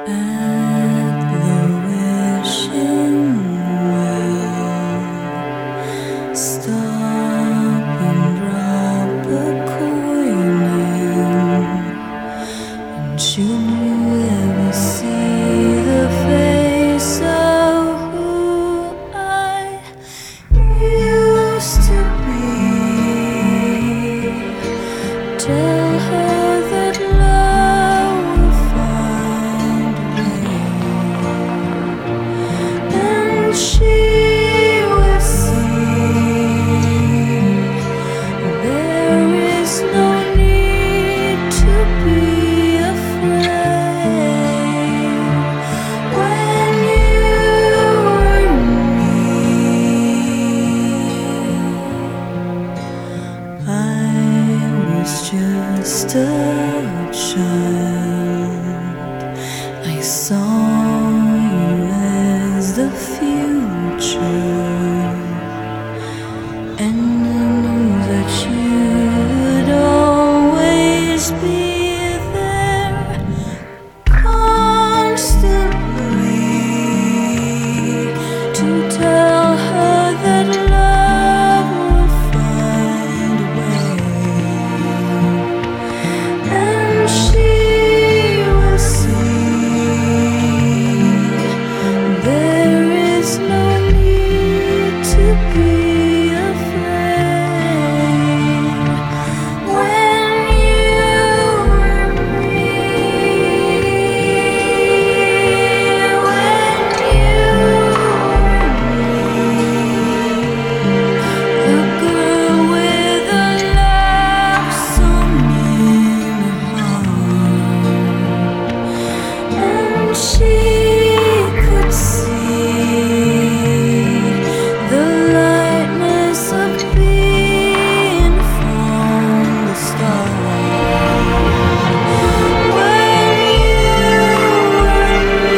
at the wishing well. Stop and drop a coin in, and should you ever see the face of who I used to be, tell her that love will find a way, and she will see there is no need to be afraid. When you were near, I was just a child. I saw you as the future, and I knew that you would always be there, constantly, to tell her that love will find a way, and she will see there is no need to be afraid. When you were near, when you were near, the girl with a love song in her heart, and she could see the lightness of being from the start. When you were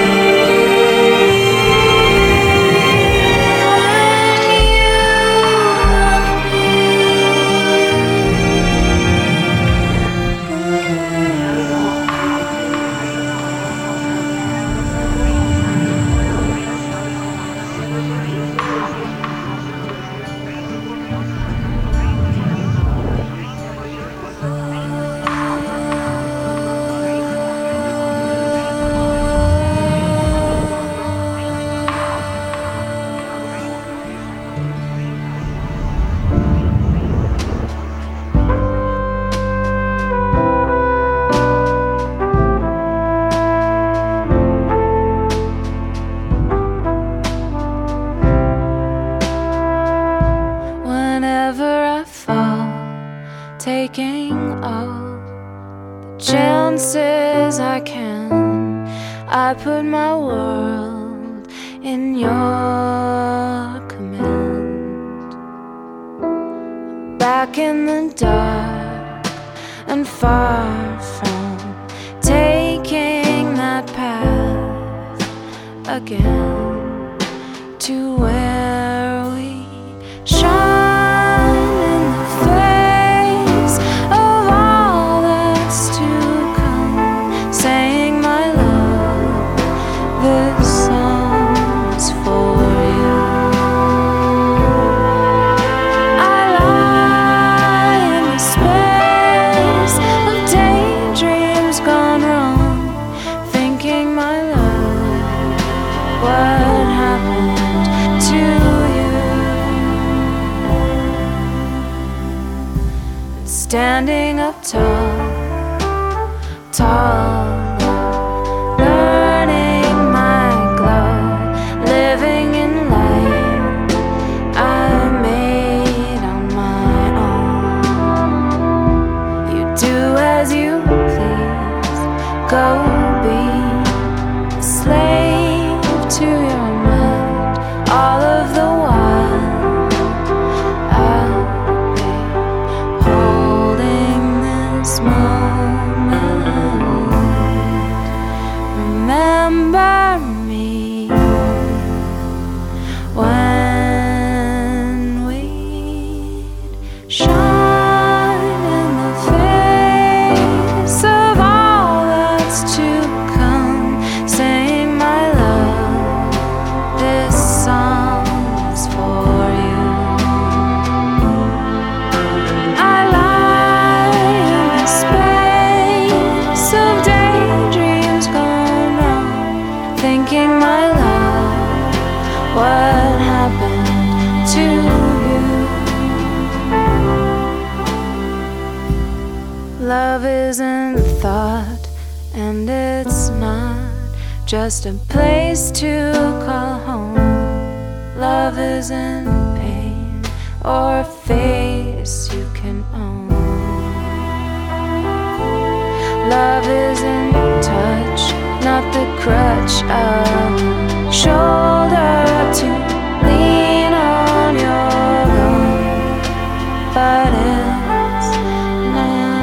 whenever I fall, taking all the chances I can, I put my world in your command. Back in the dark and far from taking that path again, to where we shine in the face of all that's to come, saying my love, this song's for you. I lie in the space of daydreams gone wrong, thinking my love, what happened to you? Standing up tall, tall, learning my glow, living in light I made on my own. You do as you please, go be a slave to your mind, all of the while I'll be holding this moment. Remember me when we'd shine in the face of all that's to come. isn't thought, and it's not just a place to call home. Love isn't pain or a face you can own. Love isn't touch, not the crutch, a shoulder to lean on your own, but it's not.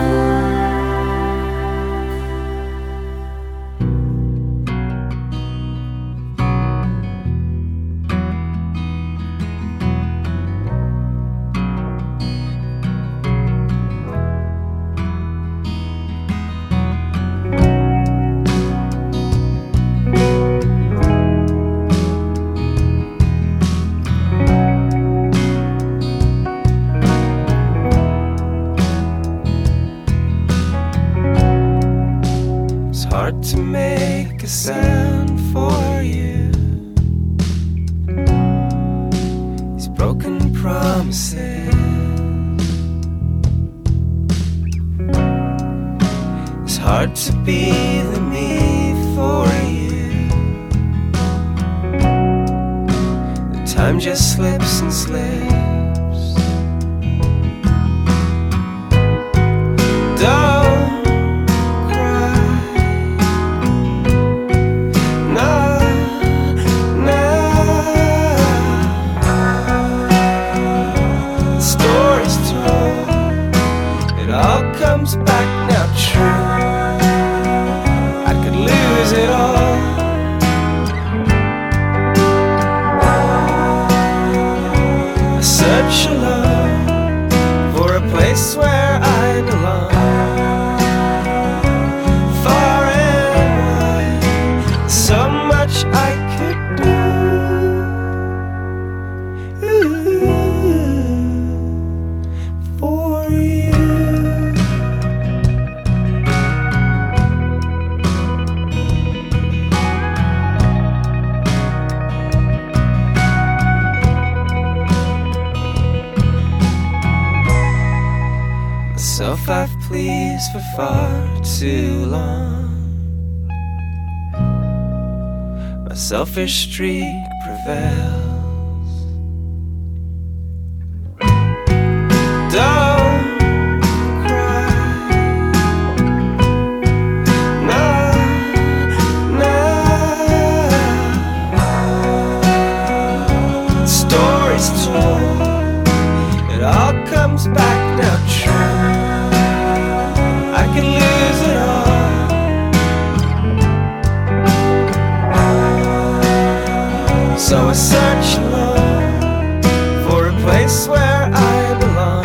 To make a sound for you, these broken promises. It's hard to be the me for you. The time just slips and slips. Don't comes back now true. I could lose it all. I search alone for a place where I belong. Far and wide, so much I could do for you. Myself I've pleased for far too long. My selfish streak prevails. Don't cry. No, no. Stories told, it all comes back now true. I could lose it all. So I search alone for a place where I belong.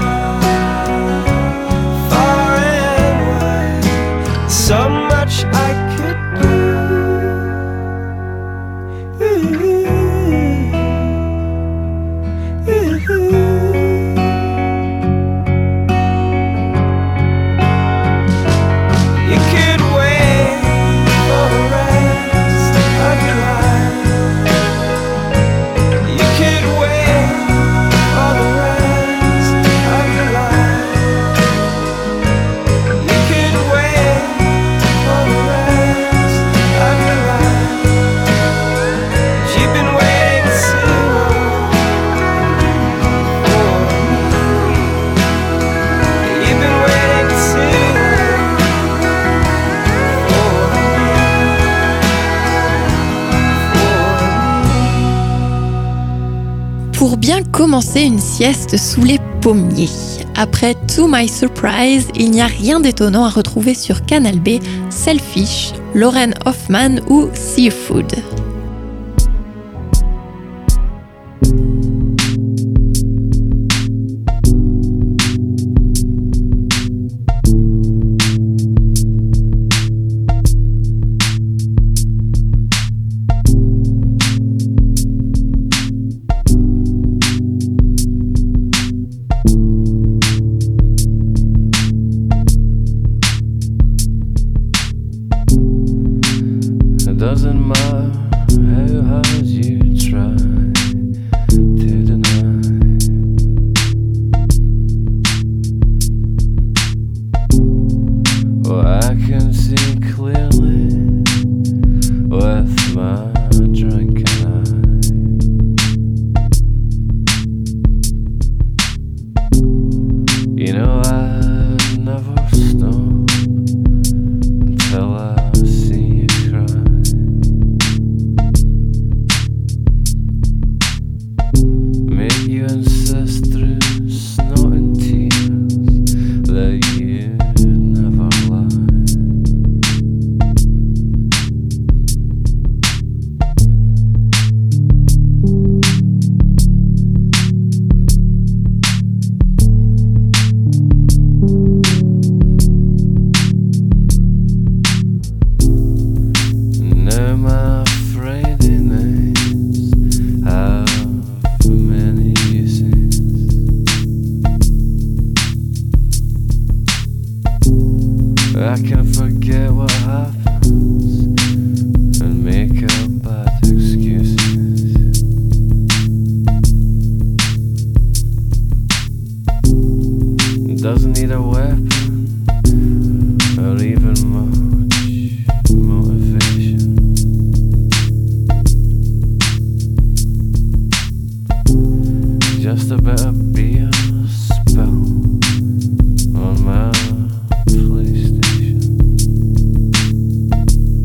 Far and wide, so much I could do. Pour bien commencer une sieste sous les pommiers. Après To My Surprise, il n'y a rien d'étonnant à retrouver sur Canal B, Selfish, Lauren Hoffman ou Seafood. Doesn't matter how hard you try to deny. I can see clearly with my drinking eye. You know I'd never stop until I see you cry. Make you insist through snot and tears that you never lie. Now my Friday nights have many uses. I can forget what happens and make up bad excuses. Doesn't need a weapon or even much motivation. Just a bit of beer spill on my PlayStation.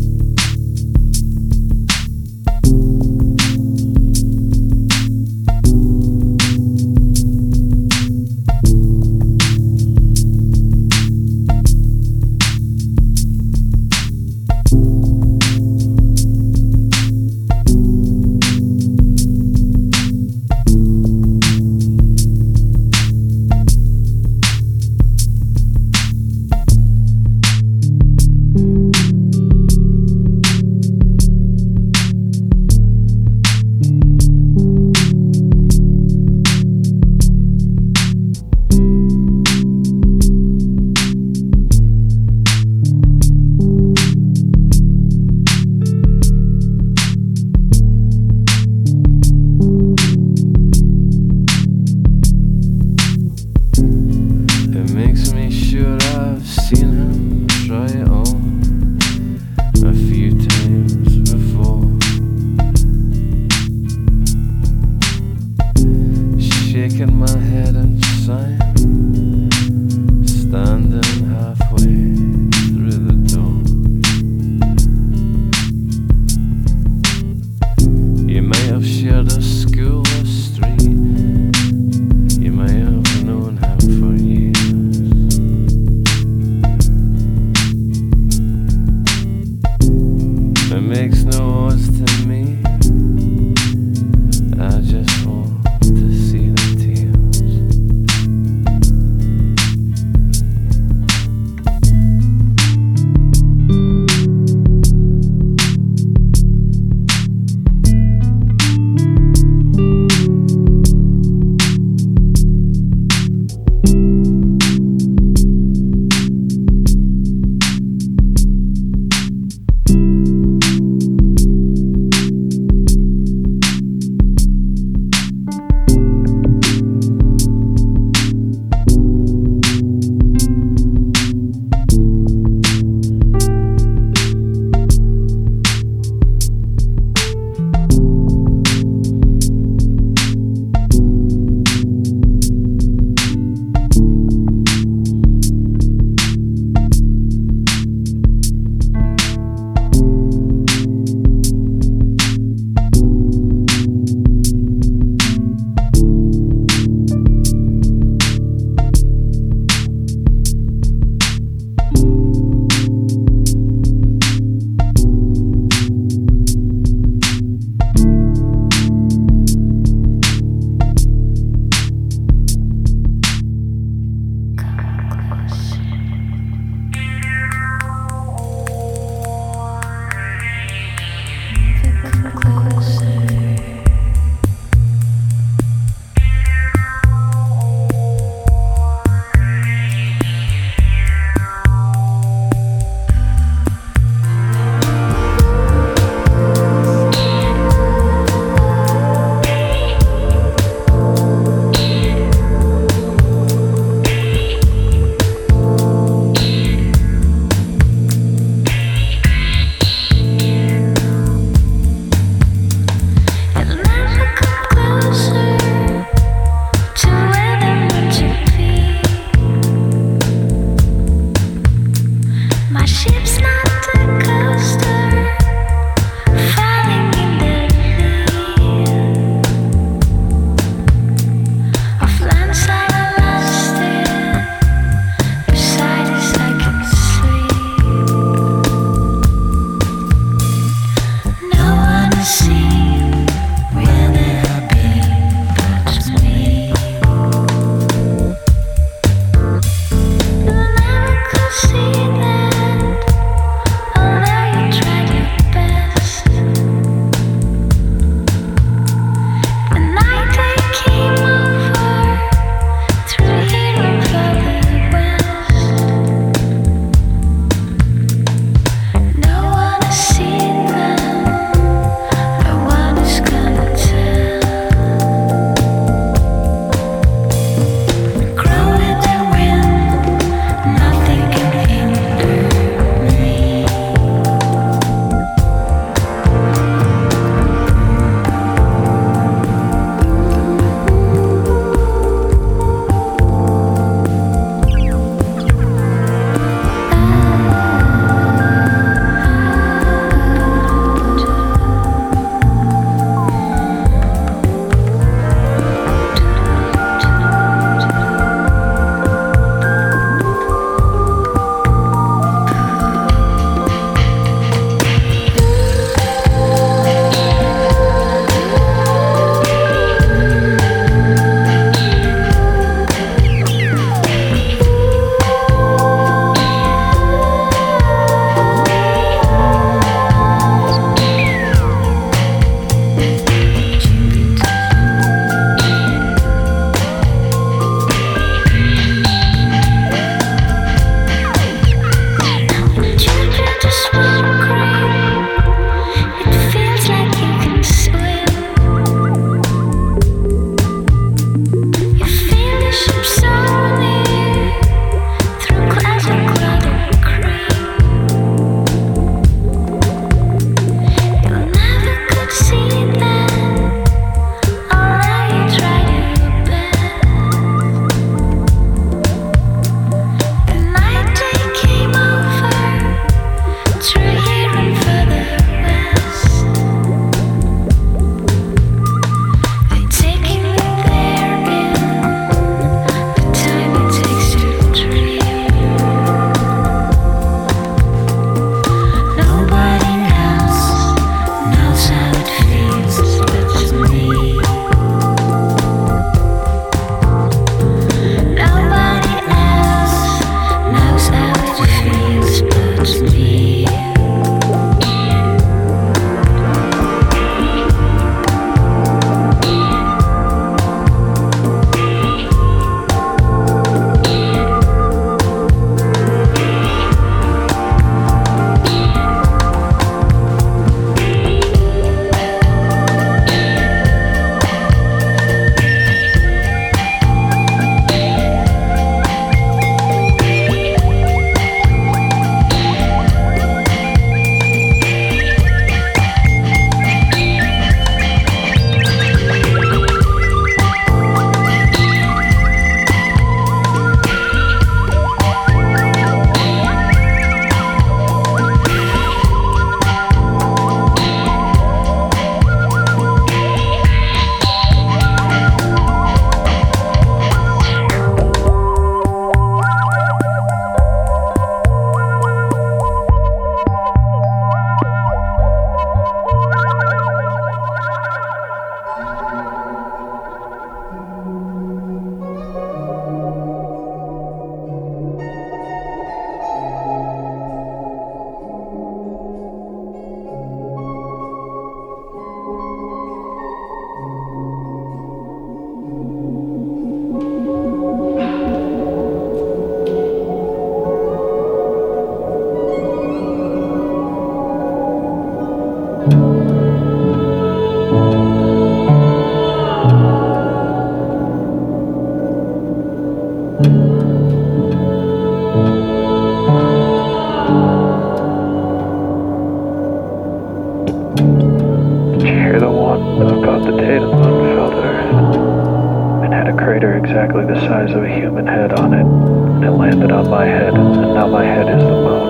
size of a human head on it, and it landed on my head, and now my head is the moon.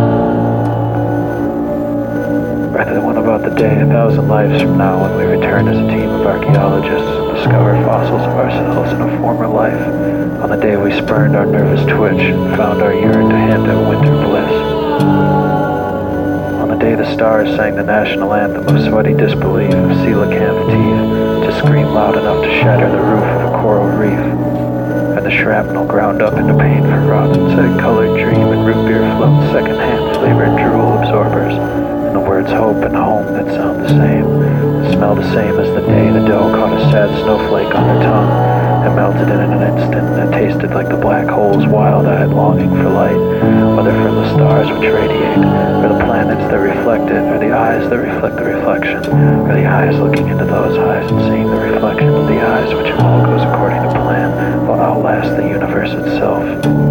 Write the one about the day 1,000 lives from now when we return as a team of archaeologists and discover fossils of ourselves in a former life, on the day we spurned our nervous twitch and found our yearn to hint at winter bliss. On the day the stars sang the national anthem of sweaty disbelief of coelacanth teeth to scream loud enough to shatter the roof of a coral reef, and the shrapnel ground up into pain for robins, egg-colored dream and root beer float second-hand flavored drool absorbers, and the words hope and home that sound the same, smell the same as the day the dough caught a sad snowflake on their tongue and melted in an instant, and it tasted like the black hole's wild-eyed longing for light, whether from the stars which radiate, or the planets that reflect it, or the eyes that reflect the reflection, or the eyes looking into those eyes and seeing the reflection of the eyes, which if all goes according to plan, will outlast the universe itself.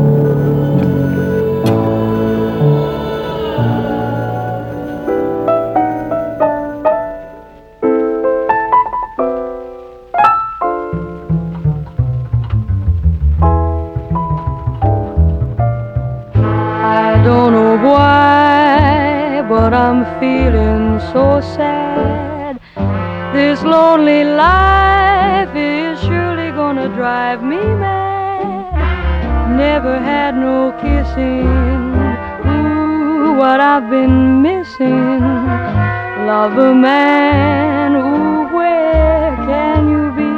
Feeling so sad. This lonely life is surely gonna drive me mad. Never had no kissing. Ooh, what I've been missing. Lover man, ooh, where can you be?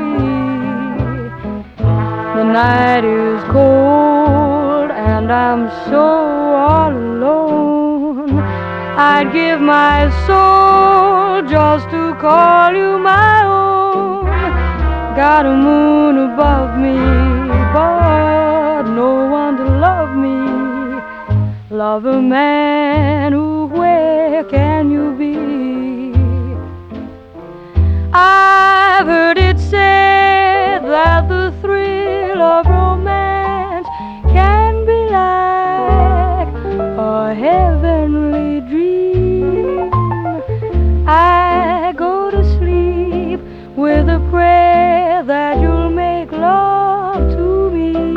The night is cold and I'm so all alone. I'd give my soul just to call you my own. Got a moon above me, but no one to love me. Lover man, ooh, where can you be? I've heard it said that the thrill of romance can be like a heavenly dream. I go to sleep with a prayer that you'll make love to me.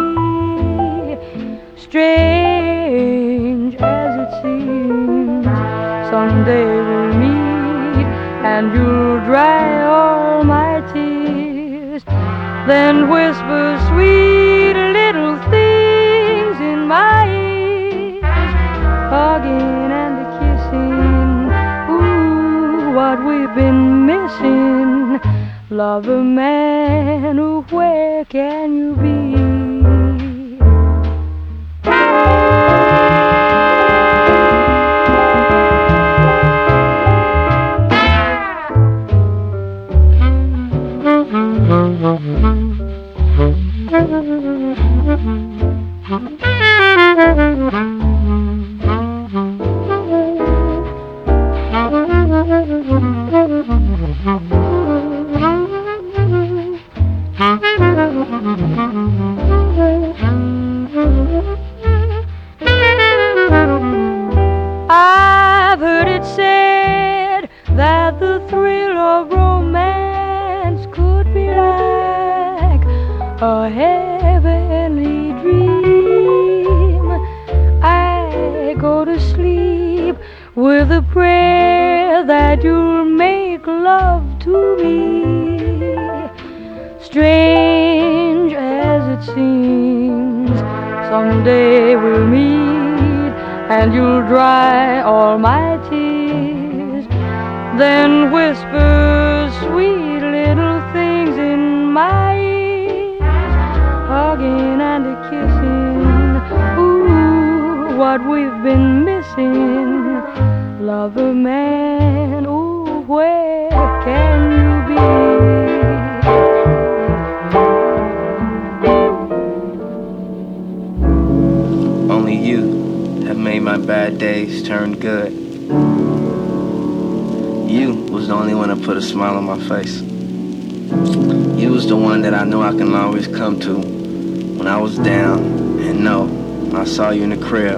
Strange as it seems, someday we'll meet and you'll dry all my tears, then whisper sweet little things in my ears, hugging and a kissing, ooh, what we've been missing. Lover man, ooh, where can you be? I've heard it said that the thrill of romance could be like a heavenly dream. I go to sleep with a prayer that you'll make love to me. Strange as it seems, someday we'll meet and you'll dry all my tears, then whisper sweet little things in my ears, hugging and a kissing, ooh, what we've been missing. Lover man, ooh, where can you be? Only you have made my bad days turn good. You was the only one that put a smile on my face. You was the one that I knew I can always come to when I was down, and know when I saw you in the crib,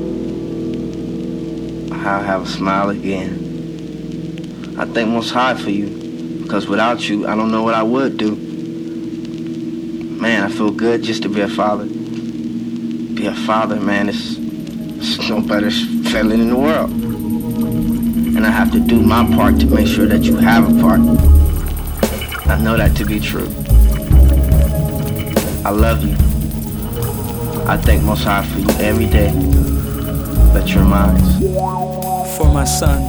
I'll have a smile again. I thank Most High for you, because without you, I don't know what I would do. man, I feel good just to be a father. Be a father, man, it's no better feeling in the world. And I have to do my part to make sure that you have a part. I know that to be true. I love you. I thank Most High for you every day. That you're mine. For my son.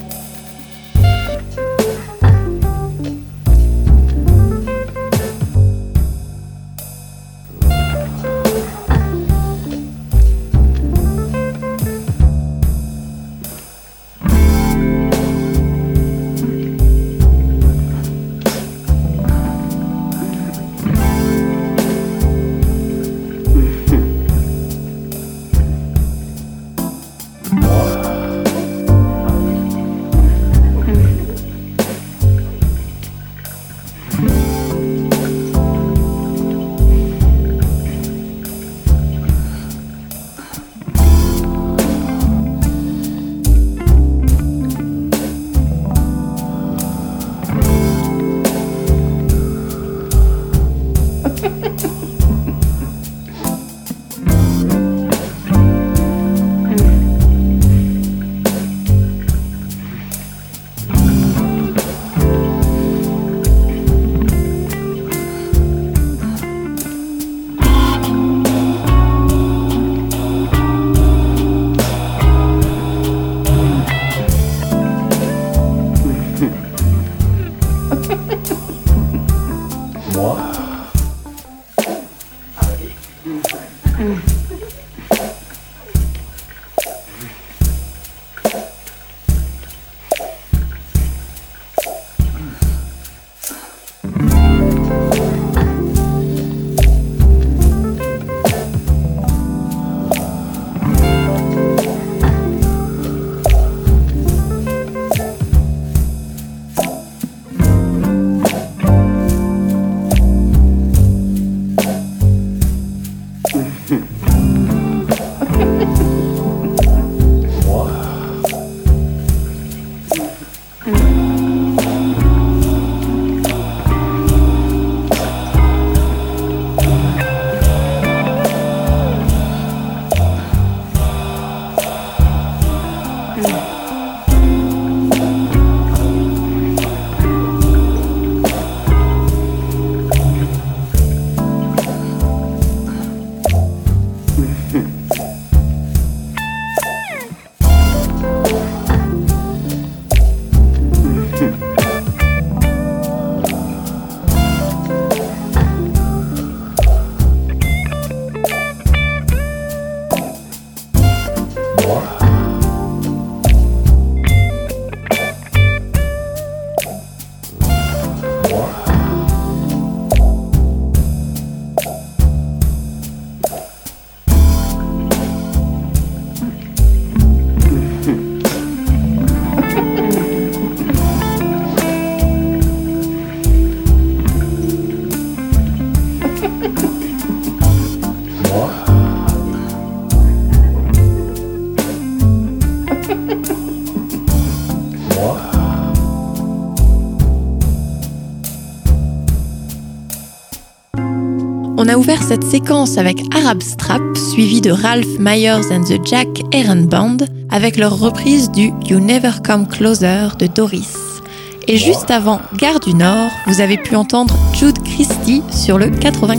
On a ouvert cette séquence avec Arab Strap, suivi de Ralph Myers and the Jack Heron Band, avec leur reprise du You Never Come Closer de Doris. Et juste avant Gare du Nord, vous avez pu entendre Jude Christie sur le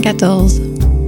94.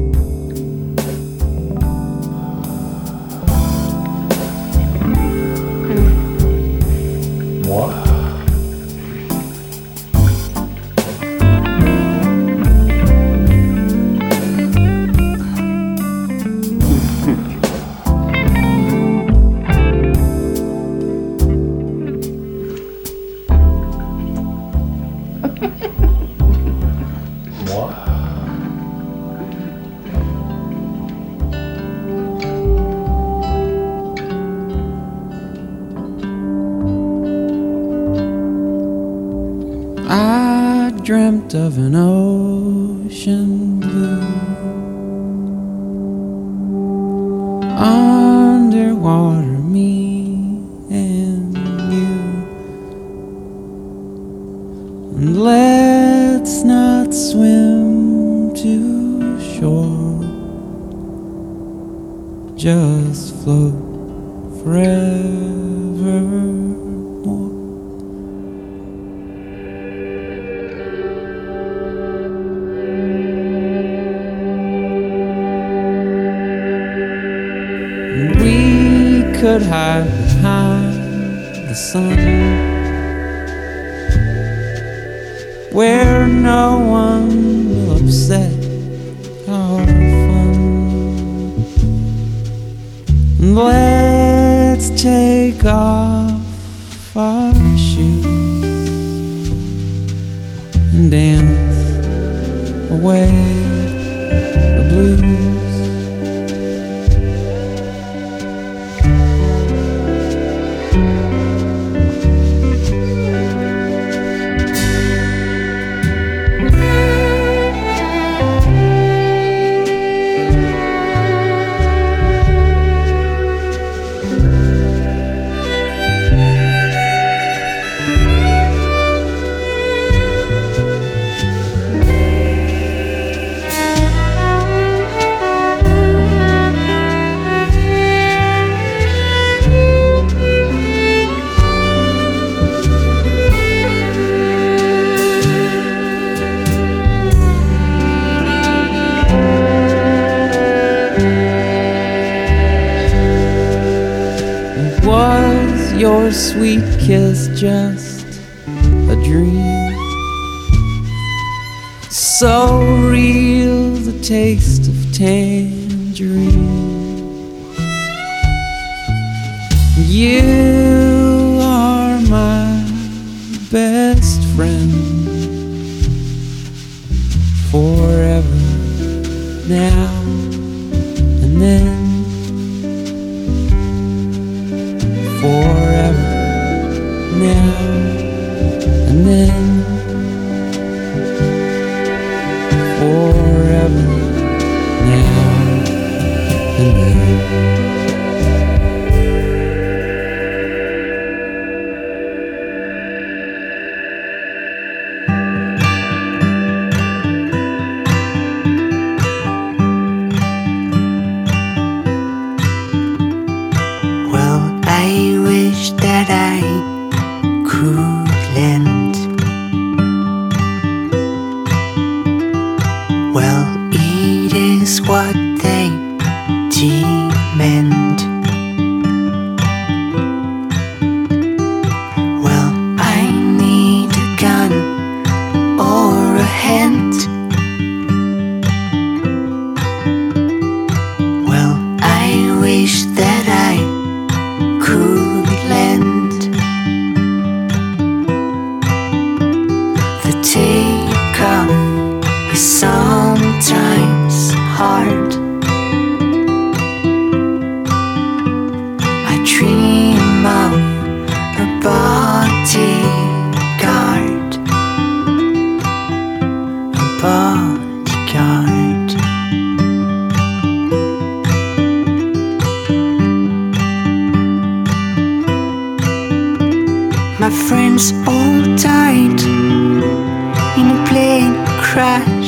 Dreamt of an ocean blue, underwater me and you, and let's not swim too forevermore. We could hide behind the sun, where no one will upset our fun. Let's take off our shoes and dance away the blues. Was your sweet kiss just a dream? So real, the taste of tangerine. You are my best friend forever, now and then. Forever, now and then. Forever, now and then. That I could lend. Well, it is what they demand. Well, I need a gun or a hand. Well, I wish that I could lend. The takeoff is sometimes hard. I dream of a bodyguard, a bodyguard. My friends all died in a plane crash.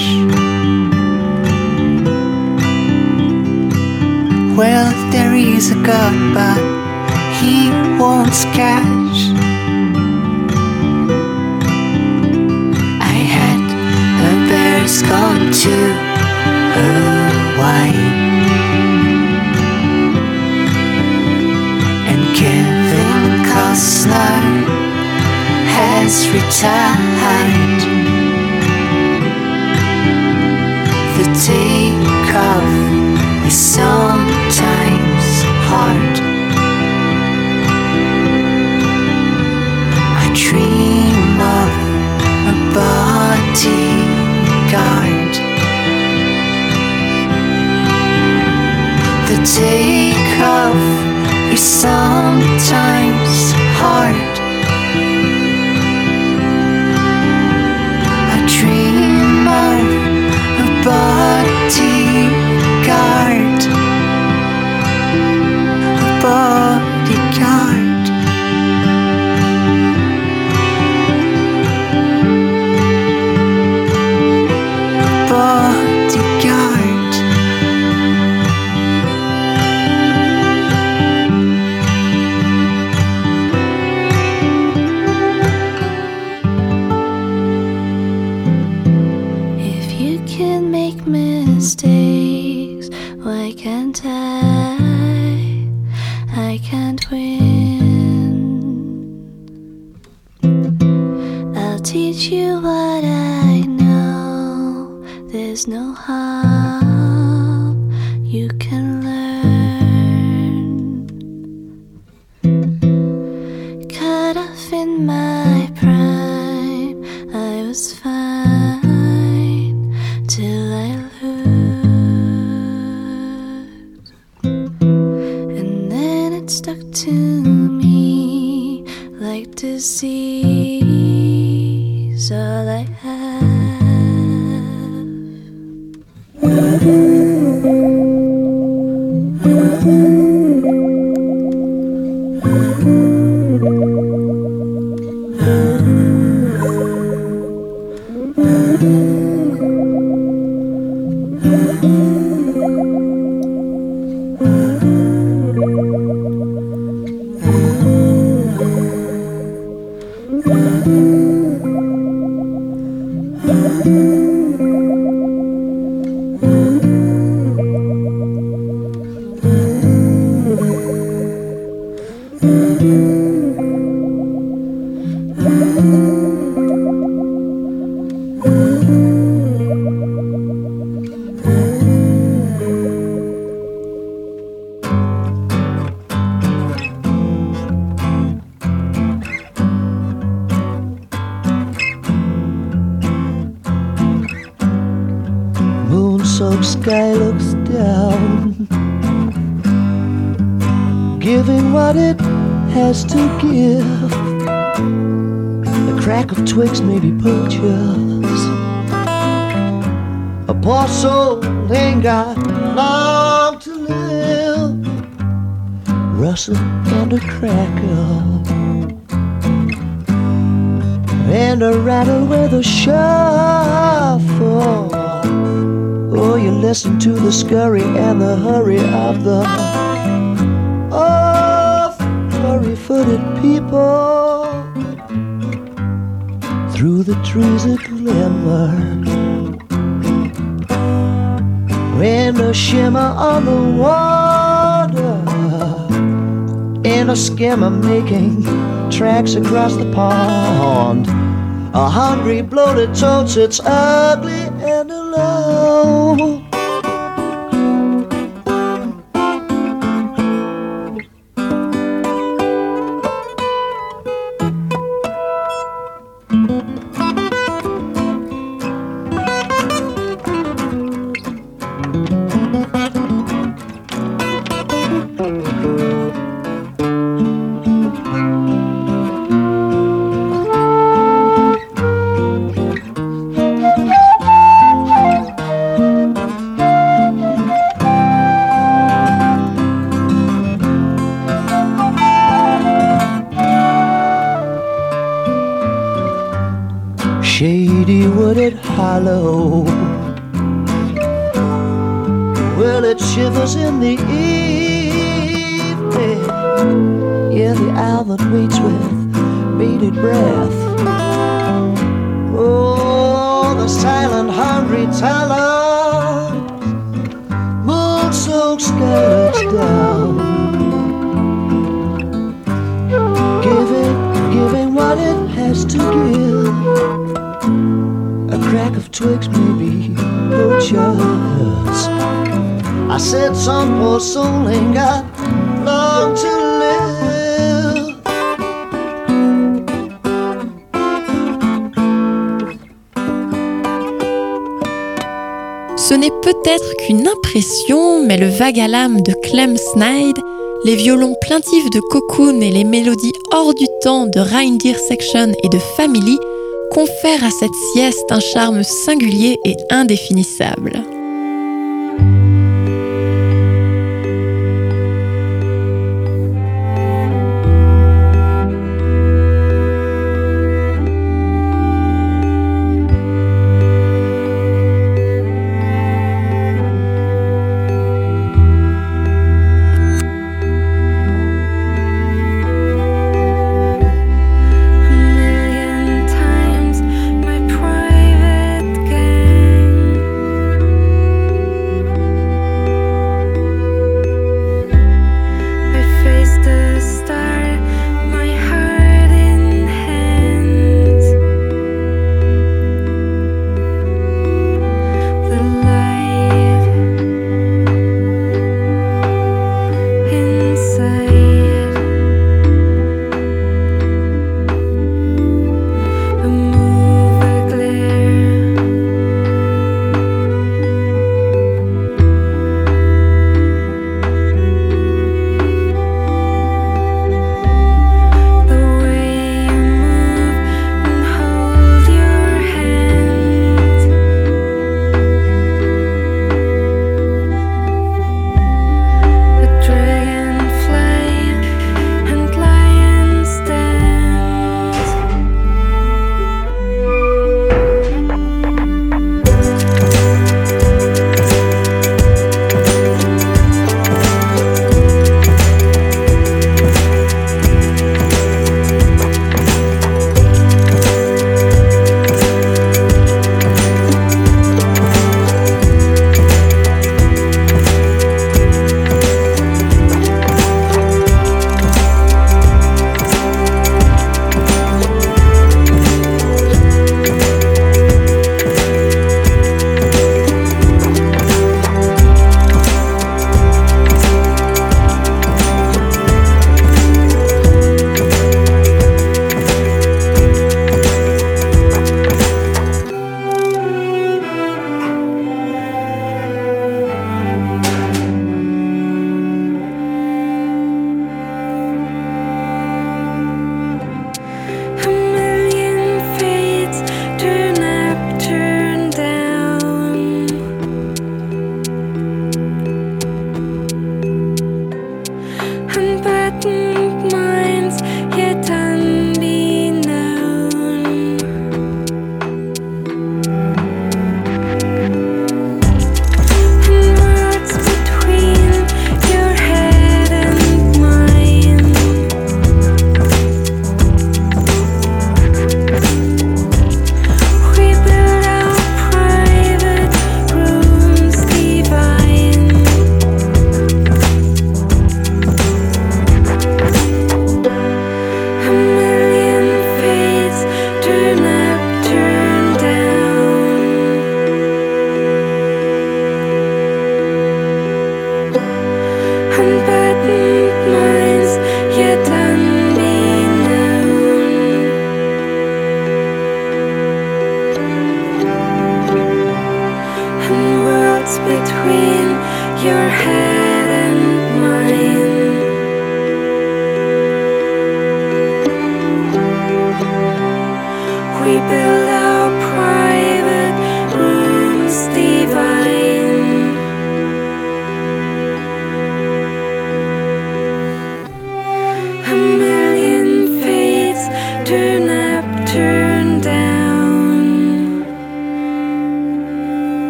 Well, there is a God, but He wants cash. I had a bear's gone to Hawaii, and Kevin Costner has retired. The takeoff is sometimes hard. I dream of a bodyguard. The takeoff is sometimes hard. I dream of a bodyguard, a bodyguard. A bodyguard. wind. I'll teach you what I know. There's no harm you can learn. Cut off in my prime, I was fine till I looked, and then it stuck to me like disease. All I have. Moon-soaked sky looks down, giving what it has to give. A crack of twigs, maybe poachers. A poor soul ain't got long to live. Rustle and a crackle, and a rattle with a shuffle. Oh, you listen to the scurry and the hurry of the furry-footed people. Through the trees a glimmer, and a shimmer on the water, and a skimmer making tracks across the pond. A hungry, bloated toad sits ugly and alone. Shady wooded hollow, well, it shivers in the evening. Yeah, the owl that waits with bated breath. Oh, the silent, hungry talent. Moon-soaked sky looks down, giving what it has to give. A crack of twigs, maybe poachers. I said some poor soul ain't got long to live. Ce n'est peut-être qu'une impression, mais le vague à l'âme de Clem Snide, les violons plaintifs de Cocoon et les mélodies hors du temps de Reindeer Section et de Family confèrent à cette sieste un charme singulier et indéfinissable.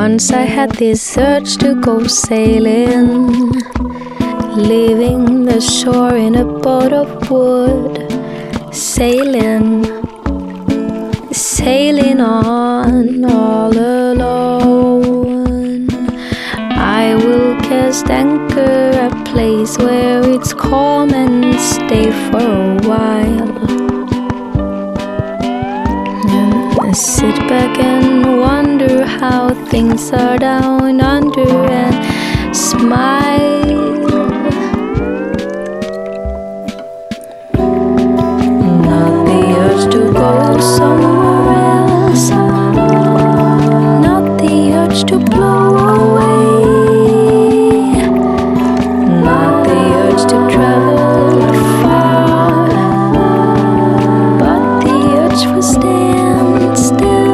Once I had this urge to go sailing, leaving the shore in a boat of wood, sailing on all alone. I will cast anchor a place where it's calm and stay for a while. And sit back and wonder how things are down under and smile. Not the urge to go somewhere else, not the urge to blow away, not the urge to travel far, but the urge for stand still.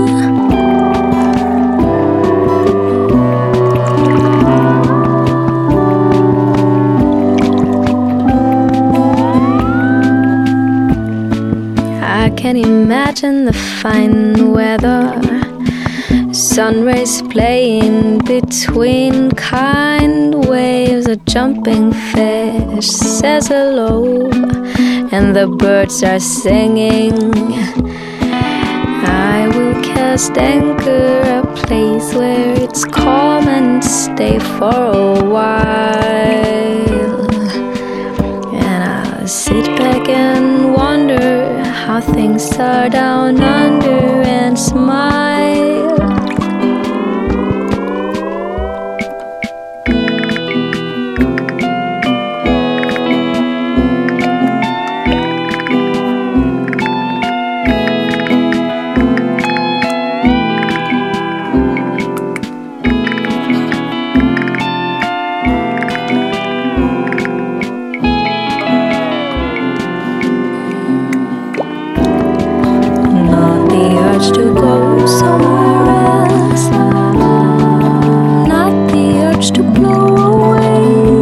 I can imagine the fine weather, sun rays playing between kind waves. A jumping fish says hello, and the birds are singing. I will cast anchor a place where it's calm and stay for a while. And I'll sit back and wonder how things are down under and smile. To go somewhere else, not the urge to blow away,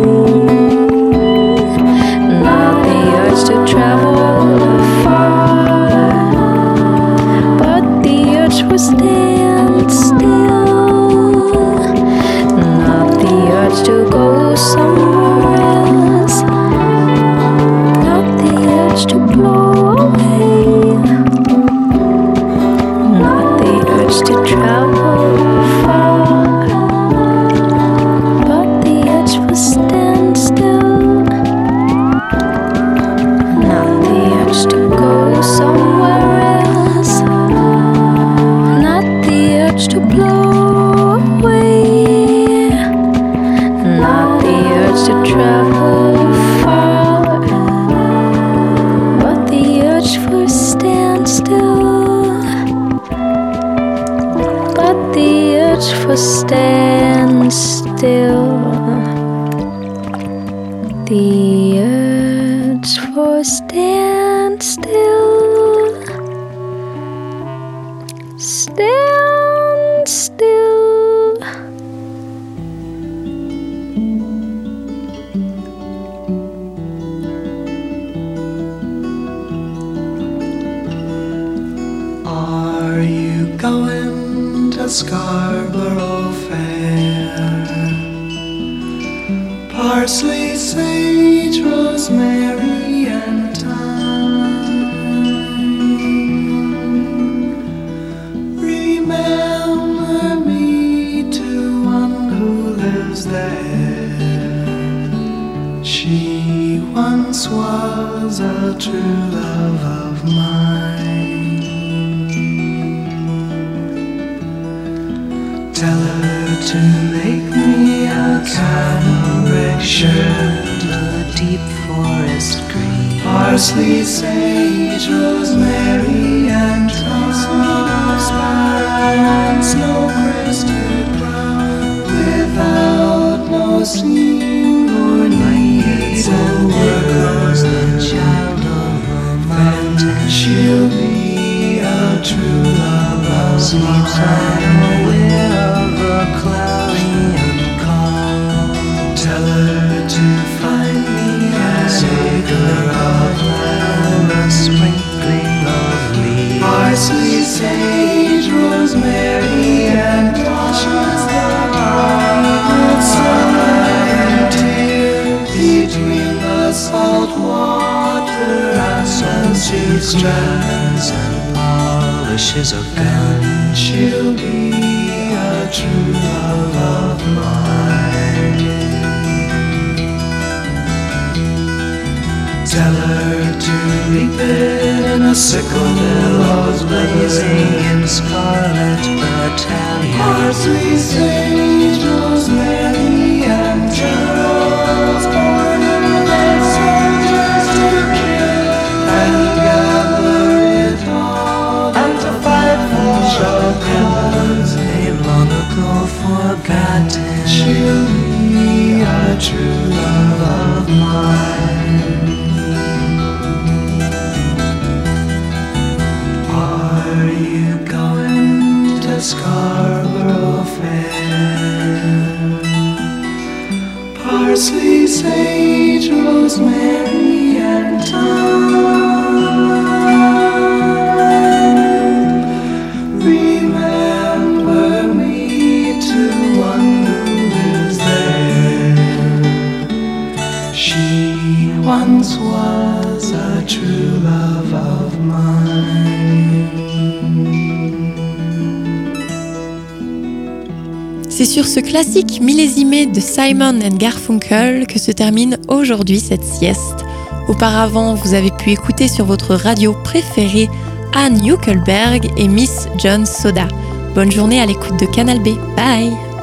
not the urge to travel far, but the urge for stand still, not the urge to go somewhere else, not the urge to blow away, to travel far, but the urge for stand still, not the urge to go somewhere else, not the urge to blow away, not the urge to travel far, but the urge for stand still. The urge for stand still, the urge for stand still, stand still. Are you going to Scarborough Fair? Parsley, sage, rosemary, and thyme. Remember me to one who lives there. She once was a true love of mine. Tell her to make me a cambric shirt, a deep forest green, parsley, sage, rosemary, and thyme, and snow-crested brown, without no seam or need or work, the child of a mountain. She'll be a true love of mine. Cloudy and calm. Tell her to find me an acre of land, a sprinkling of leaves, parsley, sage, rosemary, and thyme. straps and polishes a gun. She'll be a true love of mine. Tell her to reap it in a sickle billows blazing in scarlet battalion. Parsley, sage, rosemary, and Charles born in the dead soldiers to kill and gather it all and to fight for a cause they long ago forgotten. She'll be a true love of mine. Are you going to Scarborough Fair? Parsley, sage, rosemary, and thyme. Remember me to one who lives there. She once was a true love of mine. C'est sur ce classique millésimé de Simon & Garfunkel que se termine aujourd'hui cette sieste. Auparavant, vous avez pu écouter sur votre radio préférée Anne Hückelberg et Miss John Soda. Bonne journée à l'écoute de Canal B. Bye!